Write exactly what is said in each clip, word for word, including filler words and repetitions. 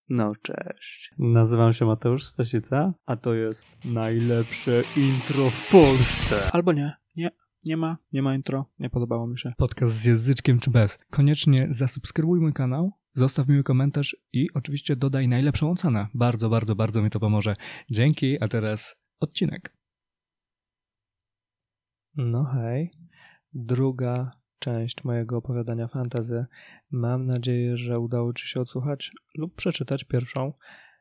No cześć. Nazywam się Mateusz Stasica, a to jest najlepsze intro w Polsce. Albo nie, nie, nie ma, nie ma intro, nie podobało mi się. Podcast z języczkiem czy bez. Koniecznie zasubskrybuj mój kanał, zostaw miły komentarz i oczywiście dodaj najlepszą ocenę. Bardzo, bardzo, bardzo mi to pomoże. Dzięki, a teraz odcinek. No hej, druga część mojego opowiadania fantasy. Mam nadzieję, że udało Ci się odsłuchać lub przeczytać pierwszą.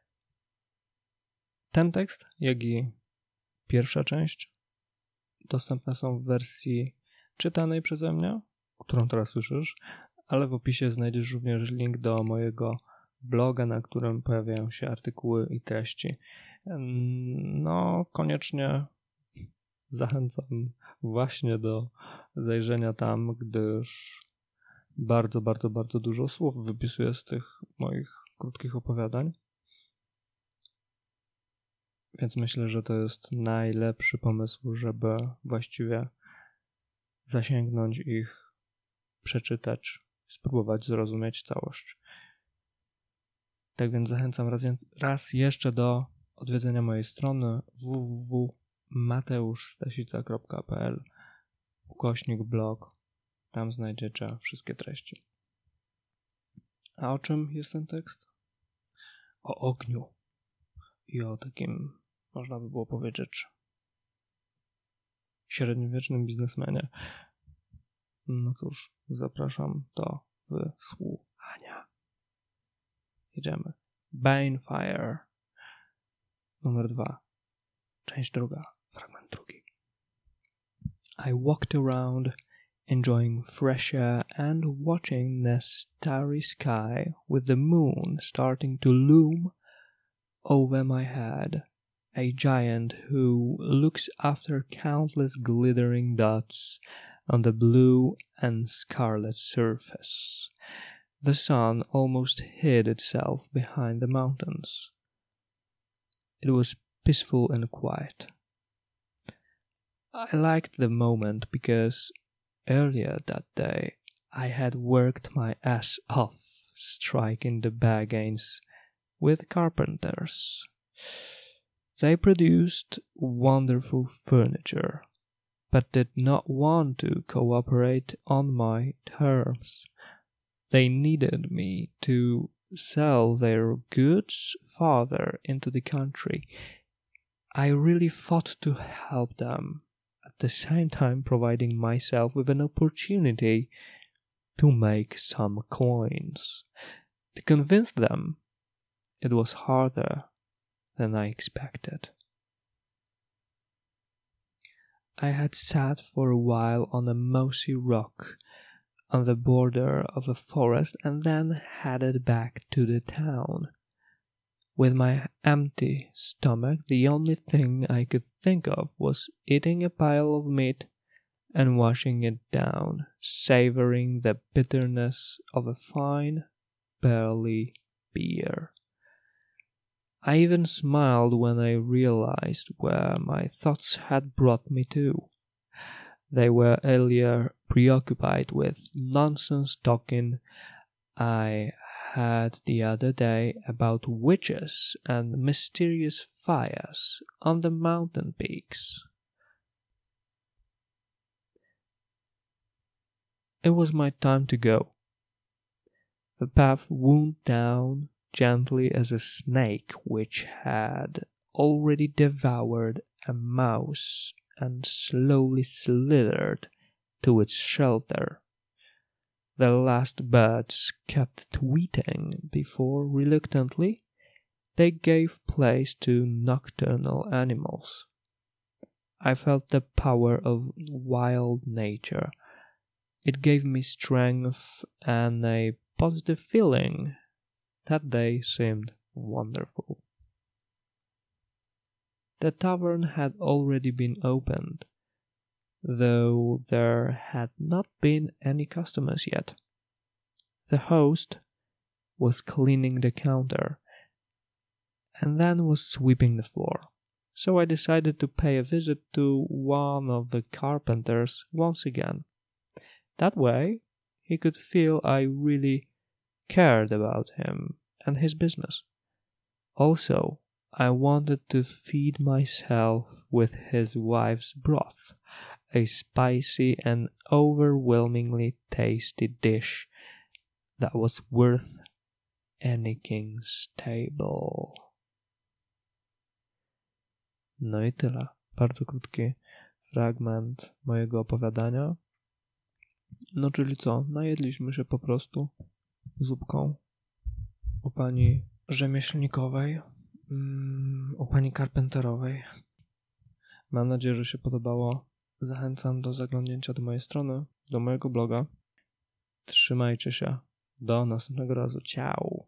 Ten tekst, jak i pierwsza część dostępne są w wersji czytanej przeze mnie, którą teraz słyszysz, ale w opisie znajdziesz również link do mojego bloga, na którym pojawiają się artykuły i treści. No, koniecznie zachęcam właśnie do zajrzenia tam, gdyż bardzo, bardzo, bardzo dużo słów wypisuję z tych moich krótkich opowiadań. Więc myślę, że to jest najlepszy pomysł, żeby właściwie zasięgnąć ich, przeczytać, spróbować zrozumieć całość. Tak więc zachęcam raz, raz jeszcze do odwiedzenia mojej strony w w w kropka mateuszstasica kropka p l ukośnik blog. Tam znajdziecie wszystkie treści. A o czym jest ten tekst? O ogniu i o takim, można by było powiedzieć, średniowiecznym biznesmenie. No cóż, zapraszam do wysłuchania. Jedziemy. Banefire. Numer dwa. Część druga. Fragment drugi. I walked around, enjoying fresh air and watching the starry sky with the moon starting to loom over my head, a giant who looks after countless glittering dots on the blue and scarlet surface. The sun almost hid itself behind the mountains. It was peaceful and quiet. I liked the moment because earlier that day I had worked my ass off striking the bargains with carpenters. They produced wonderful furniture, but did not want to cooperate on my terms. They needed me to sell their goods farther into the country. I really fought to help them, at the same time providing myself with an opportunity to make some coins. To convince them, it was harder than I expected. I had sat for a while on a mossy rock on the border of a forest and then headed back to the town. With my empty stomach, the only thing I could think of was eating a pile of meat and washing it down, savoring the bitterness of a fine, barley beer. I even smiled when I realized where my thoughts had brought me to. They were earlier preoccupied with nonsense talking I had the other day about witches and mysterious fires on the mountain peaks. It was my time to go. The path wound down gently as a snake which had already devoured a mouse and slowly slithered to its shelter. The last birds kept tweeting before, reluctantly, they gave place to nocturnal animals. I felt the power of wild nature. It gave me strength and a positive feeling. That day seemed wonderful. The tavern had already been opened, though there had not been any customers yet. The host was cleaning the counter and then was sweeping the floor, so I decided to pay a visit to one of the carpenters once again. That way, he could feel I really cared about him and his business. Also, I wanted to feed myself with his wife's broth, a spicy and overwhelmingly tasty dish that was worth any king's table. No i tyle. Bardzo krótki fragment mojego opowiadania. No czyli co? Najedliśmy się po prostu zupką u pani rzemieślnikowej, mm, u pani karpenterowej. Mam nadzieję, że się podobało. Zachęcam do zaglądnięcia do mojej strony, do mojego bloga. Trzymajcie się. Do następnego razu. Ciao.